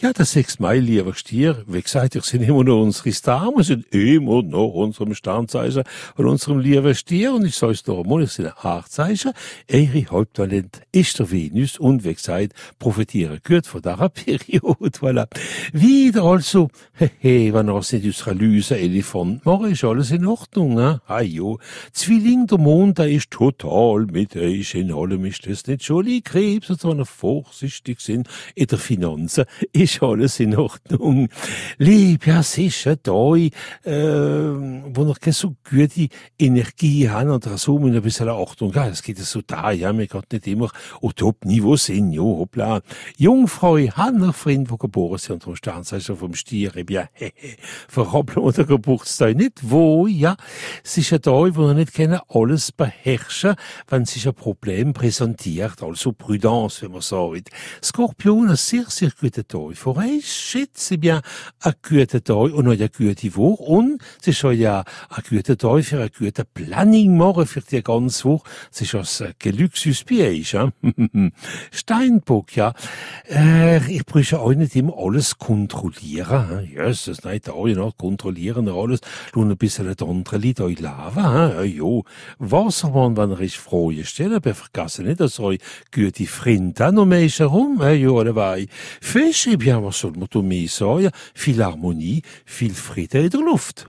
Ja, der 6. Mai, lieber Stier, wie gesagt, ich sind immer noch unsere Stars, wir sind immer noch unserem Sternzeichen und unserem lieben Stier, und ich sag's doch einmal, ich sind ein Aachzeichen, ihre Haupttalent ist der Venus, und wie gesagt, profitieren gut von dieser Periode, voilà. Wieder also, wenn er nicht aus einer Lüse Elefant machen, ist alles in Ordnung, hein? Ah jo, Zwilling, der Mond, der ist total mit euch, in allem ist das nicht schon Krebs, und wenn er vorsichtig sind in der Finanzen, ist alles in Ordnung. Lieb, ja, sicher, da, wo noch keine so gute Energie haben, oder so, mit ein bisschen Achtung, ja, es geht ja so da, ja, mir geht nicht immer auf Top-Niveau sind, jo, hoppla. Jungfrau, Hanna, Freund, wo geboren sind, und vom Sternzeichen vom Stier, ja, verhoppeln wir den Geburtstag nicht, wo, ja, es ist ja da, wo wir nicht können alles beherrschen, wenn sich ein Problem präsentiert, also Prudence, wenn man sagt. Skorpion, ein sehr, sehr guter Tag. Für euch schätze bien ein guter Tag und eine gute Woche. Und es ist ja ein guter Tag für ein gutes Planning machen für die ganze Woche. Es ist ein Geluxus bei euch. Ja? Steinbock, ja. Ich brauche auch nicht immer alles kontrollieren. Jesus, nein, da auch noch kontrollieren alles. Nur ein bisschen das andere Lied euch lava. Jo, Wassermann, wenn er ist Freude stellen, aber vergessen nicht, dass euch gute Freunde noch mehr ist herum. Jo, dabei. Fisch, bien, was soll man da mehr sagen? Viel Harmonie, viel Frieden in der Luft.